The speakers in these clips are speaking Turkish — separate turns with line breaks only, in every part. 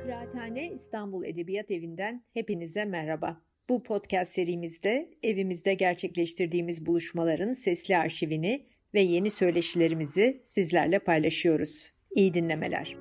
Kıraathane İstanbul Edebiyat Evi'nden hepinize merhaba. Bu podcast serimizde evimizde gerçekleştirdiğimiz buluşmaların sesli arşivini ve yeni söyleşilerimizi sizlerle paylaşıyoruz. İyi dinlemeler.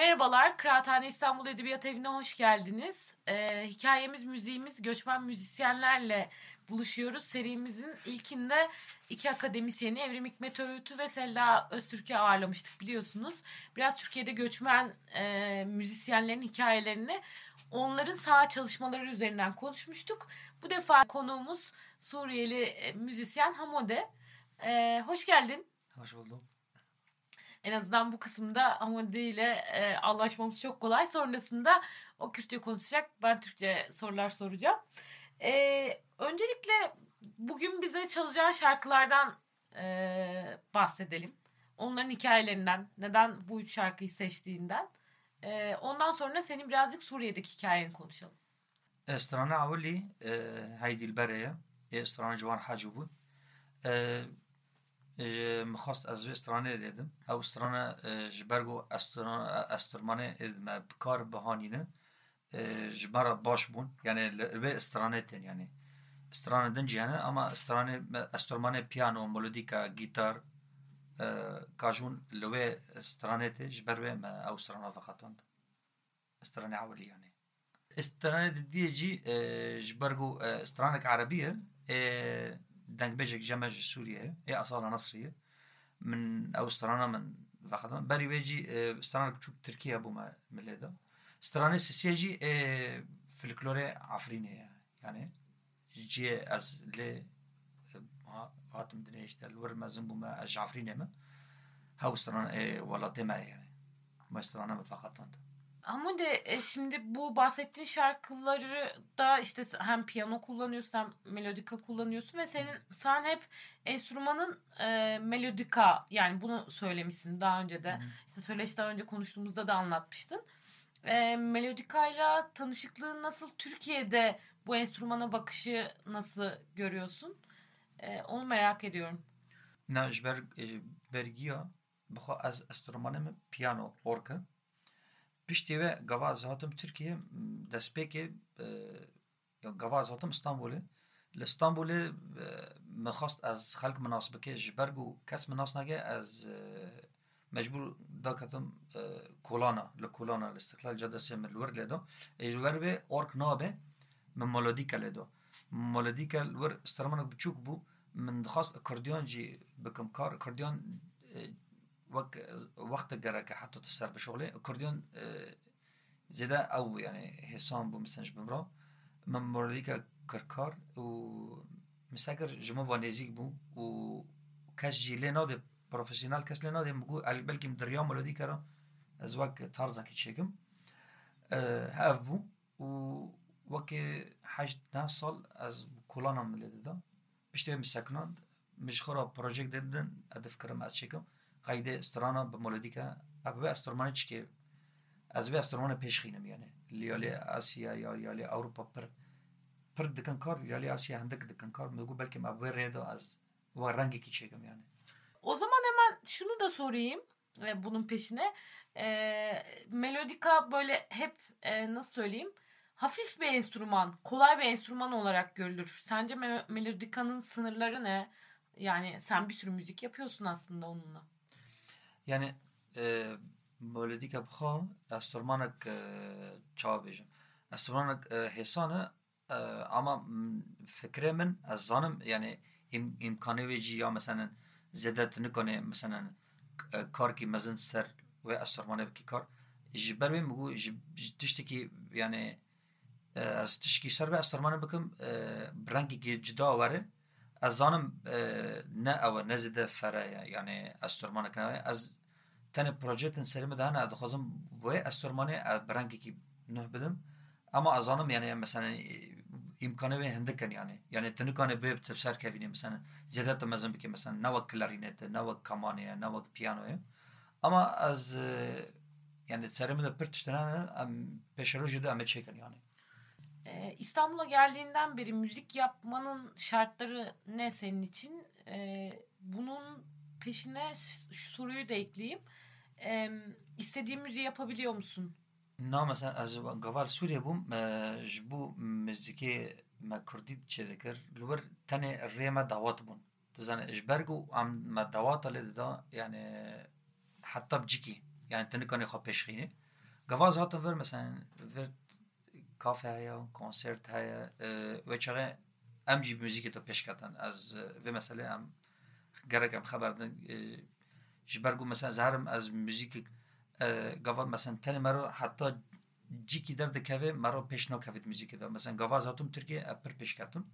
Merhabalar, Kıraathane İstanbul Edebiyat Evi'ne hoş geldiniz. Hikayemiz, müziğimiz, göçmen müzisyenlerle buluşuyoruz. Serimizin ilkinde iki akademisyeni Evrim Hikmet Öğütü ve Selda Öztürk'ü ağırlamıştık biliyorsunuz. Biraz Türkiye'de göçmen müzisyenlerin hikayelerini, onların saha çalışmaları üzerinden konuşmuştuk. Bu defa konuğumuz Suriyeli müzisyen Hamode. Hoş geldin.
Hoş buldum.
En azından bu kısımda Hamadi ile anlaşmamız çok kolay. Sonrasında o Kürtçe konuşacak. Ben Türkçe sorular soracağım. Öncelikle bugün bize çalacağın şarkılardan bahsedelim. Onların hikayelerinden, neden bu üç şarkıyı seçtiğinden. Ondan sonra senin birazcık Suriye'deki hikayeni konuşalım.
استرانه اولی هایدی البرایه استرانه جوان حاجو بود مخواست از استرانه دیدم او استرانه جبرگو استرمانه ما بکار بهانینه جبرا باش بون یعنی به استرانه تن یعنی استرانه دنجی یعنی اما استرمانه پیانو ملودیکا گیتار کاجون لوه استرانه ته جبر ما او استرانه فقطاند استرانه اولی یعنی استرانه دي جي جبرجو استرانك عربية دنك بيجك جمج سوريا هي أصالة نصرية من أو استرانة من فقط بري بيجي استرانك تشوف تركيا بوما ملدا استرانة سيجي فلكلورة عفرينية يعني جي أز ل هاتم دنيش تلور مازن بوما أج عفرينية ما هاو استرانة ولا تما يعني ما استرانة فقط أنت.
Ama de şimdi bu bahsettiğin şarkıları da işte hem piyano kullanıyorsun hem melodika kullanıyorsun ve sen hep enstrümanın melodika, yani bunu söylemişsin daha önce de. İşte söyleşten önce konuştuğumuzda da anlatmıştın. Melodikayla tanışıklığın nasıl? Türkiye'de bu enstrümana bakışı nasıl görüyorsun? Onu merak ediyorum.
ناش برگیا بخوا از استرومانم پیانو اورکا پشتی و گواز هاتم ترکیه دسپیک گواز هاتم استانبوله لإستانبول مخواست از خلق مناسبه که جبرگو کس مناس نگه از مجبور دا کتم کولانا لکولانا الاستقلال جاده سیم الور لیدو الور به اورک نابه من مولودیکا لیدو مولودیکا الور استرمانك بچوك بو من خواست اکردیان جی بکم کار اکردیان وقت جرى حتى تسر بشغله اكورديون زيادة او يعني حسام بو مسنج بمرا من موريكا كركار و مساكر جمع وانيزيك بو و كاش جي لينا دي بروفيسيونال كاش لينا دي مقول بلكي مدريا مولوديكا را ازواك تارزا كي تشيكم هاف بو و وكي حاج ناصل از كولانا مليدة دا بشتوي مساكنان مش خورا بروجيك ديدن ادف كرم از تشيكم قاعدة استرانا بمولوديكا أبوي استرمانيش كي أزوي استرمانة بيشخينم يعني اللي آسيا يالي أوروبا پر دكان كار يالي آسيا عندك دكان كار مدقو بلكي أبوي ريدو az و رنگي كي çekim yani.
O zaman hemen şunu da sorayım bunun peşine. Melodika böyle hep nasıl söyleyeyim? Hafif bir enstrüman, kolay bir enstrüman olarak görülür. Sence melodikanın sınırları ne? Yani sen bir sürü müzik yapıyorsun aslında onunla.
Yani melodika bxa استرمانك çağa bejim. استرمانك حسانه ama fikre min az zanım yani imkanı veci ya mesela zedet nikane mesela kar ki mezin ser ve استرمانه ki kar jiber ve mugu tişteki yani az tişki ser ve استرمانه bakım brangi ki cida vare az zanım ne ava ne zede feraya yani استرمانه kanaya az tane projetin serimi daha ne dixwazim ve استرمانه brangi ki ne bidim ama azanım yani mesela imkanı ve hendiken yani tınıkanı böyle tefsir kevini mesela ziyadet mezun biki mesela nava klarinete nava kamaniye nava piyanoya ama az yani serimi de pırtıştıran peşeroji de amet çeken yani.
İstanbul'a geldiğinden beri müzik yapmanın şartları ne senin için? Bunun peşine şu soruyu da ekleyeyim. İstediğin müziği yapabiliyor musun?
نه مثلا از قبال سوریا بوم جبو مزیکی ما کردی چه دکر لور تنه ریما دعوت بون تزانه اجبرگو ام ما دعوت لده دا يعني حتى بجيكي يعني تنه كان يخا بيشخيني gavaz hatın ver mesela ver kafe haya konsert haya ve çare em jî müzik de peşkatan az ve mesela em gerek em xeberdin ji ber ku mesela zaharim az müzik gavaz mesela tenê me re heta cîkî derdikeve me re pêş nakevit müzikê de mesela gavaz hatim Tirkiye em pir pêşketim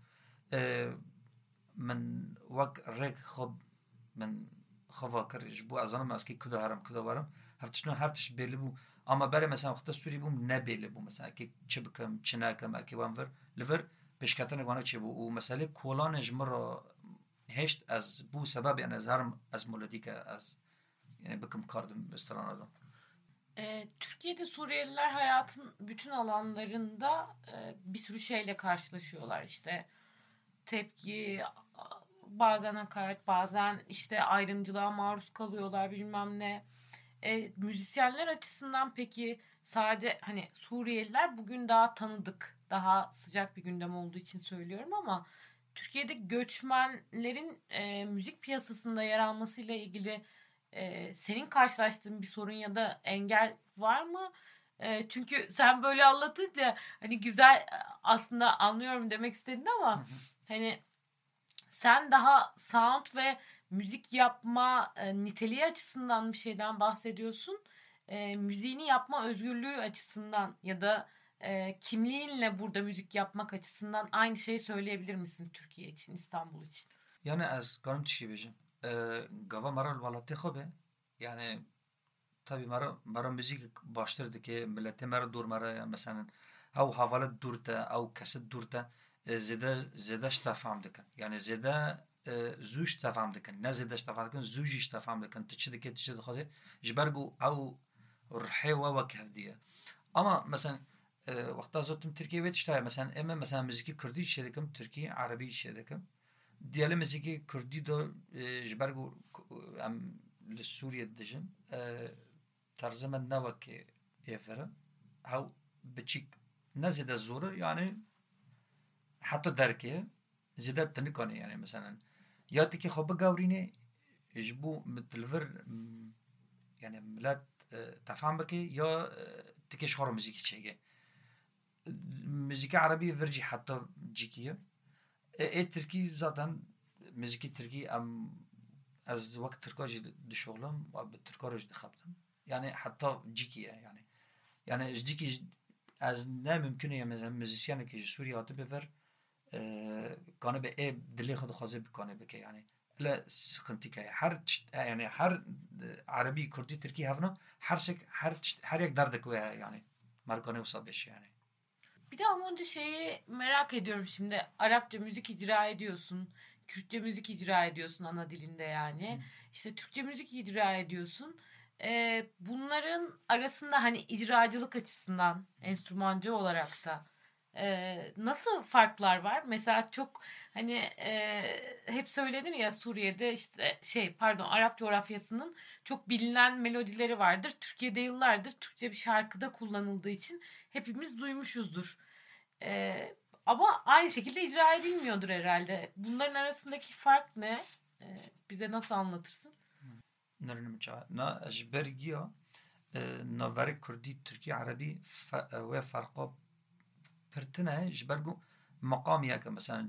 من وەک ڕێک خۆ من خۆڤا کرد ji bo ez zanim eskî kuda herim kuda werim hev tiştî her tişt bêli bû ama berê mesela wexta Sûrî bûm nebêli bû mesela ekê çi bikim çi nekim ekê wan vir li vir pêşketinê wana çêbû û meselê kolanê ji min re hêşt ez bû sebebê ez herim ez melodîke ez yani bikim kar di strana da.
Türkiye'de Suriyeliler hayatın bütün alanlarında bir sürü şeyle karşılaşıyorlar. İşte tepki, bazen hakaret, bazen işte ayrımcılığa maruz kalıyorlar bilmem ne. Müzisyenler açısından peki sadece hani Suriyeliler bugün daha tanıdık, daha sıcak bir gündem olduğu için söylüyorum ama Türkiye'de göçmenlerin müzik piyasasında yer almasıyla ilgili senin karşılaştığın bir sorun ya da engel var mı? Çünkü sen böyle anlatınca hani güzel aslında anlıyorum demek istedin ama hani sen daha sound ve müzik yapma niteliği açısından bir şeyden bahsediyorsun. Müziğini yapma özgürlüğü açısından ya da kimliğinle burada müzik yapmak açısından aynı şeyi söyleyebilir misin Türkiye için, İstanbul için?
Yani ez karim tişî bêjim gava me re li welatê xwe be yani tabii mera müzik baştır dike milletê me re dûr me re mesela ew havalet dûr te ew kesit dûr te zêde ji te fehm dikin yani zêde zû ji te fehm dikin ne zêde ji te fehm dikin zû jî ji te fehm dikin tu çi dikê tu çi dixwazî ji ber ku ew rihê we wek hevdî ye ama mesela wexta zotim Tirkiye wê tişta ye mesela em mesela müzikî Kurdî jî çê dikim Tirkî Erebî jî çê dikim diyelim müzikî Kurdî de ji ber ku em li Sûriye dijin tarzı me ne wekê êvere ew biçîk ne zêde zor e yani heta derkê zêde te nikanî yani mesela ya tikê xwe bigewrînî ji bo tu li vir yani millet te fehm bike ya tikê ji xwe re müzikî çêge müzikî Erebî vir jî heta cîkî ye Tirkî zaten müzikî Tirkî em ez wek Tirka jî dişoxlim bi Tirka re jî dixebtim yani heta cîkî ye yani ji cîkî ez ne mümkün ye mesela müzisyenekî ji Sûriye hatibe ver kanîbe ê dilê xwe dixwaze bikanî bike yani ele sıkıntı her yani her Arabi Kürdi Türkiye havna her yek derdek ve yani markanı usa beş yani.
Bir de ama önce şeyi merak ediyorum şimdi. Arapça müzik icra ediyorsun. Kürtçe müzik icra ediyorsun ana dilinde yani. İşte Türkçe müzik icra ediyorsun. Bunların arasında hani icracılık açısından enstrümancı olarak da nasıl farklar var? Mesela çok hani hep söylenir ya Suriye'de işte Arap coğrafyasının çok bilinen melodileri vardır. Türkiye'de yıllardır Türkçe bir şarkıda kullanıldığı için hepimiz duymuşuzdur. Ama aynı şekilde icra edilmiyordur herhalde. Bunların arasındaki fark ne? Bize nasıl anlatırsın?
Na ajbergiya navere Kürdi Türkiye Arabi ve farkı pertine jbergu مقامية مثلا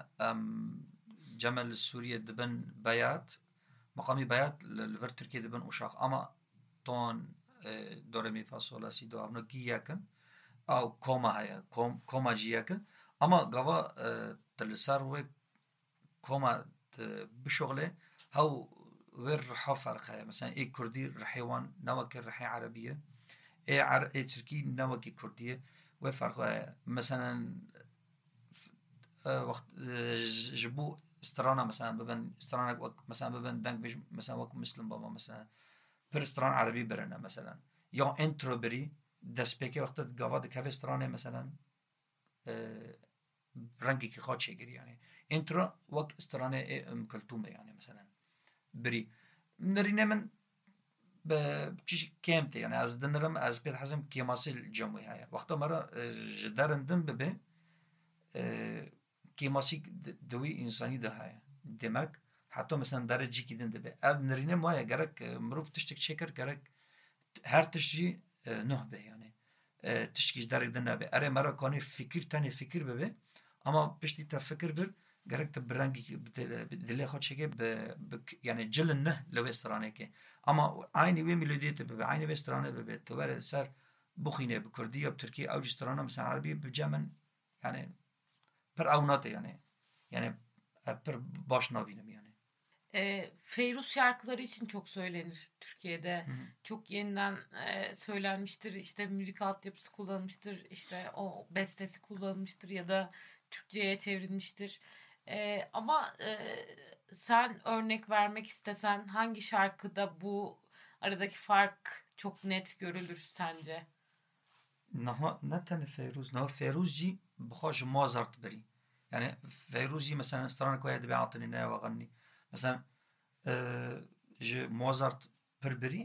جمع لسوريا دبن بيات مقامي بيات لفر تركيا دبن أشاق أما تون دورمي فاصولا سي دو أبنو جياكن أو كوما هيا كوما جياكن أما قوا تلسار و كوما بشغله هاو ور رحا فرقها مثلا إيه كردي رحيوان نوكي رحي عربية إيه تركي نوكي كردية وفرقها مثلا وقت جبو استرانا مثلا ببن استرانا مثلا ببن دنگ بيج مثلا وقت مسلم بابا مثلا بر استران عربي برنا مثلا یا انترو بری دست پکی وقت گاواد کف استرانه مثلا رنگی که خواهد چه گری يعني انترو وقت استرانه کلتومه يعني مثلا بری نرینه من بچیش کمته يعني از دنرم از بيت حزم كيماسي الجمعي هاي وقتا مرة جدارندن ببه كيماسي دوي إنساني ده هاي demek hatta mesela derece gidin de eb nerine maya gerek mruf tiştek çeker gerek her tişi نه به یعنی تشکیش درک دنیا به اره مرا کانی فکر ببه اما پشتی تا فکر بر گرک تا برنگی دلی خود چگه یعنی جل نه لو استرانه که اما عینی وی ملودیت به عینی وی استرانه به تو بر سر بخینه به کردی یا ترکی او جسترانه مثلا عربی به جمن yani per avnate yani per baş nabinem yani.
Feyruz şarkıları için çok söylenir Türkiye'de.
Hı.
Çok yeniden söylenmiştir. İşte müzik altyapısı kullanılmıştır. İşte o bestesi kullanılmıştır ya da Türkçe'ye çevrilmiştir. Ama sen örnek vermek istesen hangi şarkıda bu aradaki fark çok net görülür sence?
نه تنه فیروز نه فیروز جی بخواش مازارت بری یعنی فیروز جی مثلا استران کوی دبی عطنی نه وغنی مثلا ج مازارت پر بری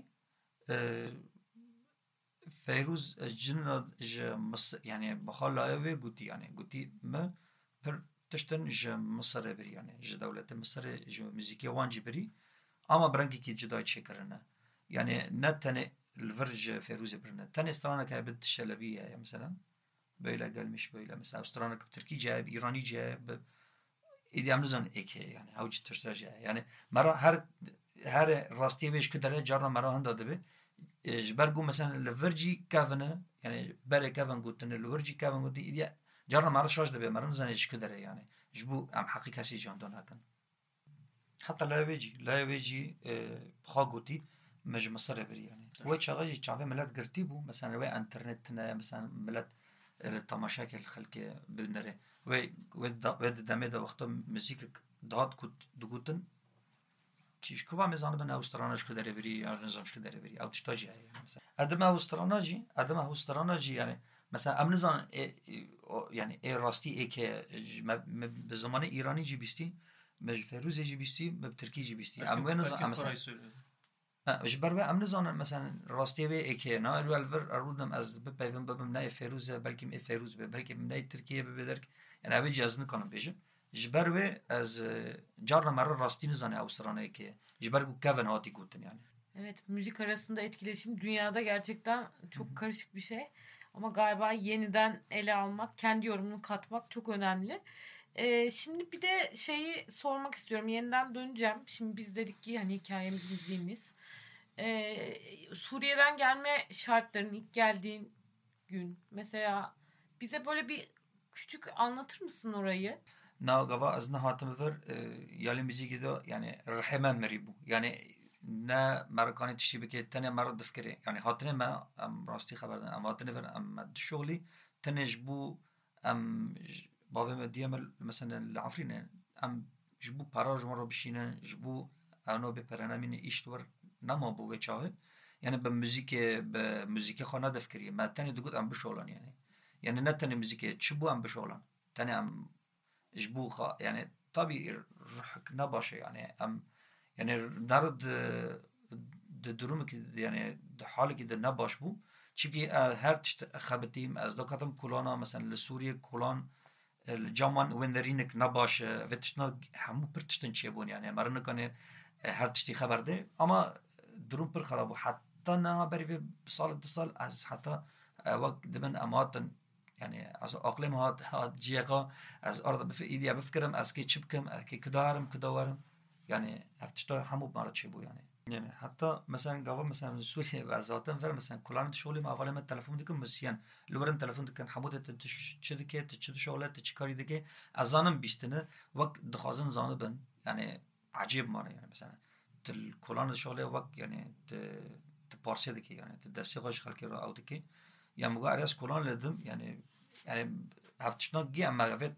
فیروز جن ج مص yani بخالا و گوتی yani گوتی ما پر تشتن ج مصر بری yani ج دولت مصر ج موزیکی وانجی بری ama برنگی کی جدای چکرنه yani نه تنه الفرج فيروز برنا تاني استرانا كابد الشلبية يعني مثلا بيلا قال مش بيلا مثلا استرانا تركي جايب إيراني جايب إذا عملزن إيكي يعني أو جت تشتاج يعني مرة هر راستي بيش كده جارنا مرة هندا دبي جبرجو مثلا الفرجي كافنا يعني بري كافن قلتن الفرجي كافن قلت إذا جارنا مرة شاش دبي مرة نزن إيش كده يعني جبو أم حقيقة سي جان دون هكذا حتى لا يجي بخاقوتي مج مصر بري يعني وين شغال يشافي ملات قرتي بو مثلا وين انترنت مثلا ملات التماشاك الخلق بندره وين دمه ده وقت موزیک داد كنت دقوتن كيش كوبا ميزان بنا اوستراناج كدره بري يعني نظامش كدره بري او تشتاجي يعني مثلا ادم اوستراناجي يعني مثلا ام نظام يعني اي راستي اي كه بزمان ايراني جي بيستي مج فيروز جي بيستي بتركي جي بيستي ام وين نظام مثلا جبر به ام نزانم مثلا راستی به اکی نه الولور ارودم از بپیوند ببم نه فیروز بلکه ای فیروز به بلکه نه ترکیه به بدرک yani abi cihazını kanım bejim jber ve az carna mara rastini zane Avustralya ki jber bu Kevin hati gutun yani.
Evet, müzik arasında etkileşim dünyada gerçekten çok karışık bir şey. Ama galiba yeniden ele almak, kendi yorumunu katmak çok önemli. Şimdi bir de şeyi sormak istiyorum. Yeniden döneceğim. Şimdi biz dedik ki hani hikayemiz, müziğimiz. Suriye'den gelme şartların ilk geldiğin gün. Mesela bize böyle bir küçük anlatır mısın orayı?
Na gava az ne hatım ver yali müziği de yani rahman meribu. Yani ne Amerikanı tişi bike tane marad fikri. Yani hatine ma am rasti haberden ama hatine ver am şogli tenej bu am babam diyemel mesela العفرين am جبو پراج مرا بشینه جبو انا به پرنامین ایشت ور نما بو بچاه yani به موزیک خانه دفکری ما تانی دگود ام بشولان yani نه تانی موزیک چبو ام بشولان تانی ام جبو خا yani tabi ruhk نباشه yani ام yani نرد de durumu ki yani de hali ki de نباش bu çünkü her tişt xabetiyim az da katım kulana mesela Suriye kulan الجامان وندرینک نباشه و تشنا همو پر تشتن چیه بون یعنی مرنه کنه هر تشتی خبر ده اما درون پر خرابو حتی نه بری به سال دو سال از حتی وقت دبن اماتن yani az aklım hat ciğaka az arada bir idea befkirem az ki çıbkem ki kıdarım yani hafta hamu mara çibu yani hatta mesela gava mesela Suriye ve zaten ver mesela kullanıcı şöyle mi avalı telefon dikim mesela lüren telefon dikin hamudet tçedike tçedi şöyle tçkari dike azanım bistine vak dxazın zanı ben yani acayip mara yani mesela tel kullanıcı şöyle vak yani te parse dike yani te desteğaç halkı ra avdike ya muga aras kullanladım yani hafta gi ama evet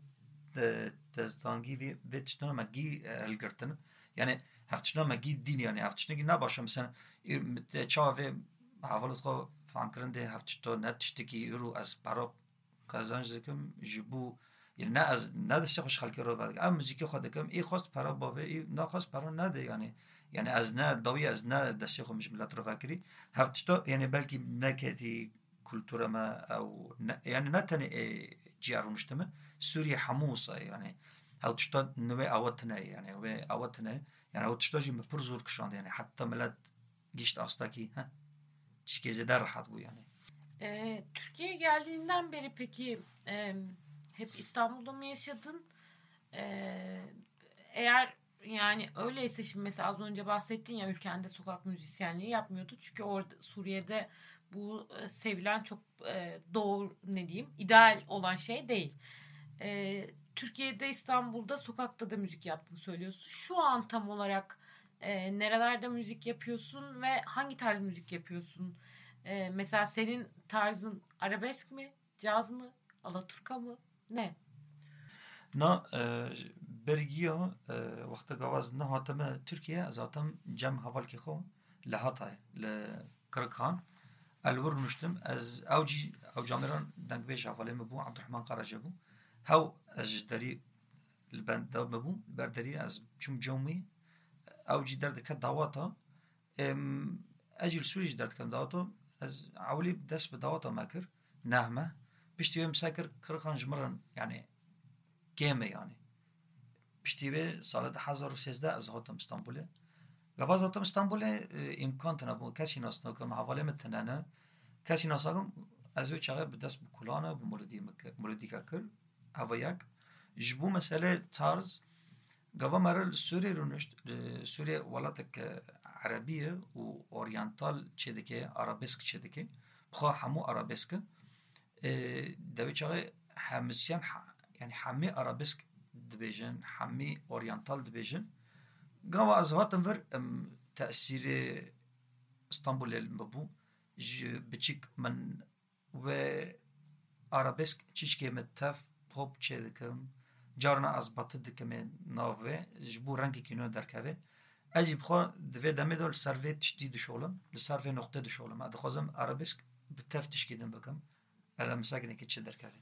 tezdangi ve tçna ma gi elgertin yani هفتشنا مگی دین یعنی هفتشنا کی نباشه مثلا چاوه حوالت خو فهم کرنده هفتشتا نتشتی کی رو از برا کازانج دکم جبو یعنی نه از نه دست خوش خالکی رو بعد ام موزیک خود دکم ای خواست برا باوه ای نخواست برا نده یعنی از نه داوی از نه دست خو مش ملت رو فکری هفتشتا یعنی بلکی نکتی کلتور ما او یعنی نه تنه جیارونشتمه سوریه حموسه یعنی هفتشتا نوع آواتنه یعنی و آواتنه yani o tuştajı mı pır zor kışandı yani hatta millet geçti hasta ki çikeze der rahat bu yani
Türkiye'ye geldiğinden beri peki hep İstanbul'da mı yaşadın? Eğer yani öyleyse şimdi mesela az önce bahsettin ya ülkende sokak müzisyenliği yapmıyordu. Çünkü orada Suriye'de bu sevilen çok doğru ne diyeyim ideal olan şey değil. Türkiye'de İstanbul'da sokakta da müzik yaptığını söylüyorsun. Şu an tam olarak nerelerde müzik yapıyorsun ve hangi tarz müzik yapıyorsun? Mesela senin tarzın arabesk mi, caz mı, alaturka mı? Ne?
نا برگیا وقت گواز نه هاتم ترکیه از هاتم جم حوال کی خو لهاتای لکرکان الور نشتم از او جامران دنگ بیش حواله مبو عبدالرحمن قراجه بو هاو از جداری البند دا مبو برداری از چوم جومی او جی درد که دعواتا اجل سوری جی درد کم دعواتا از عولی دست به دعواتا مکر نهمه بشتی مساکر کرکان جمران yani گیمه yani. پشتیوه سال 2013 از هاتم استانبوله. گواز هاتم استانبوله امکان تنبو کسی ناسنا که محواله متنانه کسی ناساگم از وی چاقه به دست بکلانه به مولدی که کر هوا یک جبو مسئله تارز گوا مرل سوری رو نشت سوری ولاتک عربیه و اورینتال چه دکه عربسک چه دکه بخواه همو عربسک دوی چاقه همسیان yani hami arabesk dibêjin, hami oryantal dibêjin. Gava ez hatim vir tesîrê İstanbulê mebû ji biçîk min ve arabesk çîşkê me tev pop çê dikim. Carna ez batı dikim ê nav ve ji bo rengekî nû derkeve. Ez jî bixwe divê demê de li ser vê tiştî dişolim, li ser vê noqtê dişolim. Ez dixwazim arabesk bi tev tişkî din bikim. Ele misakinekî çi derkeve.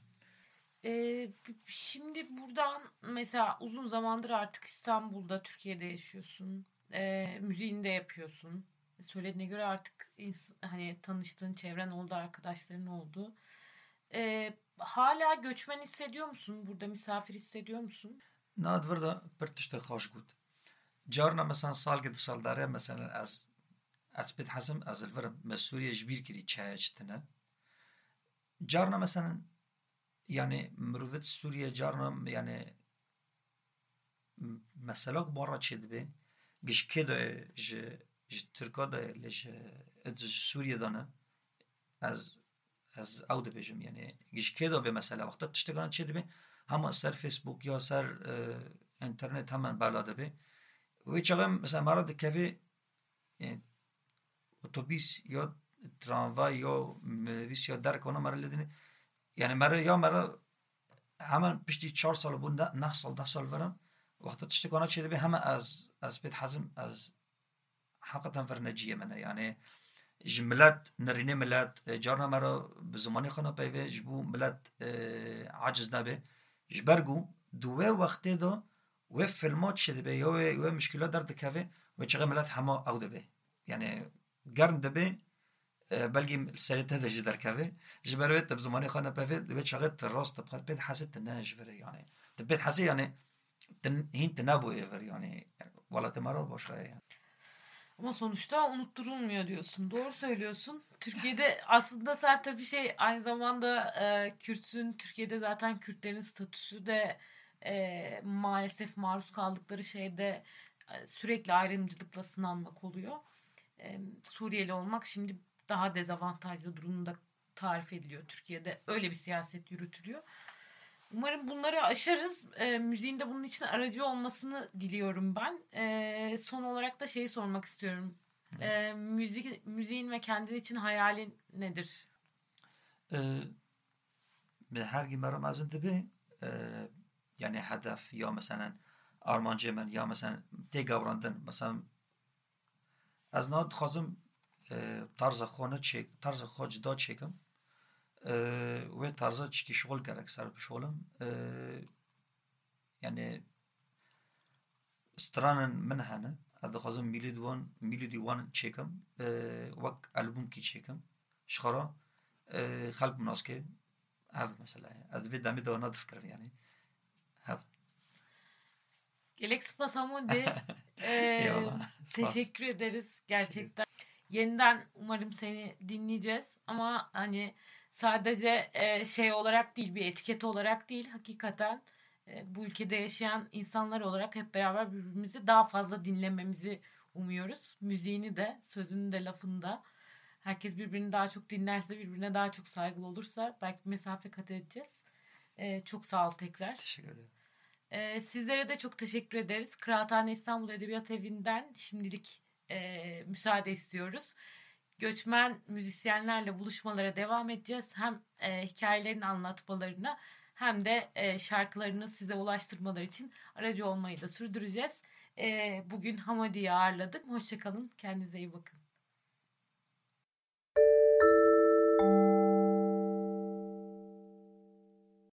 Şimdi buradan mesela uzun zamandır artık İstanbul'da, Türkiye'de yaşıyorsun. Müziğini de yapıyorsun. Söylediğine göre artık hani tanıştığın çevren oldu, arkadaşların oldu. Hala göçmen hissediyor musun? Burada misafir hissediyor musun?
Nadvır da bir tişte hoş gut. Carna mesela salgı dışaldare mesela az bit hasım az elverim Suriye jbir kiri çaya çtine. Carna mesela yani mürüvvet Suriye carna yani mesela barra çedbe gişke de Türkiye de Suriye dana از او دبیجم یعنی گیشکه دا به مثلا وقتا تشتگان چه دبی همه سر فیسبوک یا سر اینترنت همان بالا دبی و چقدر مثلا مرا دکوی اتوبیس یا تراموای یا مویس یا در کنه مرا لدینی یعنی مرا همان پشتی 4 سال بود 9 سال 10 سال ورم وقتا تشتگان چه دبی همه از بیت حزم از حقیقتا فرنجیه منه یعنی جملات نرینه ملت جارنا مرا به زمانی خانه پیوه جبو ملت عجز نبه جبرگو دوه وقته دا و فیلمات شده به یا مشکلات در دکوه و چقدر ملت همه او دبه یعنی گرم دبه بلگی سریته ده جدر کوه جبروه تب زمانی خانه پیوه دوه چقدر تراست تبخد بید حسی تنه جوره yani تبید حسی yani هین تنابو ایور yani والا تمارا باشه yani.
Ama sonuçta unutturulmuyor diyorsun. Doğru söylüyorsun. Türkiye'de aslında sen tabii aynı zamanda Kürtsün. Türkiye'de zaten Kürtlerin statüsü de maalesef maruz kaldıkları şeyde sürekli ayrımcılıkla sınanmak oluyor. Suriyeli olmak şimdi daha dezavantajlı durumda tarif ediliyor. Türkiye'de öyle bir siyaset yürütülüyor. Umarım bunları aşarız. Müziğin de bunun için aracı olmasını diliyorum ben. Son olarak da şeyi sormak istiyorum. Müziğin ve kendin için hayalin nedir?
Her gün benim azındı bir yani hedef ya mesela armancı men ya mesela tek avrandın mesela az ne dixwazim tarzı xونه çek tarzı xo cida çekim ve tarzı çiki şغل gerek ser bişolum yani stranın min hene dixwazim melodi wan çekim vak albüm ki çekim şxara xalq mnaske ev mesela ez ve demê de wana difkirim yani hev
Gelek Spasamudi. Teşekkür ederiz gerçekten. Yeniden umarım seni dinleyeceğiz ama hani sadece şey olarak değil, bir etiket olarak değil, hakikaten bu ülkede yaşayan insanlar olarak hep beraber birbirimizi daha fazla dinlememizi umuyoruz. Müziğini de, sözünü de, lafını da. Herkes birbirini daha çok dinlerse, birbirine daha çok saygılı olursa belki mesafe kat edeceğiz. Çok sağ ol tekrar.
Teşekkür ederim.
Sizlere de çok teşekkür ederiz. Kıraathane İstanbul Edebiyat Evi'nden şimdilik müsaade istiyoruz. Göçmen müzisyenlerle buluşmalara devam edeceğiz. Hem hikayelerini anlatmalarına hem de şarkılarını size ulaştırmaları için aracı olmayı da sürdüreceğiz. Bugün Hamadi'yi ağırladık. Hoşçakalın. Kendinize iyi bakın.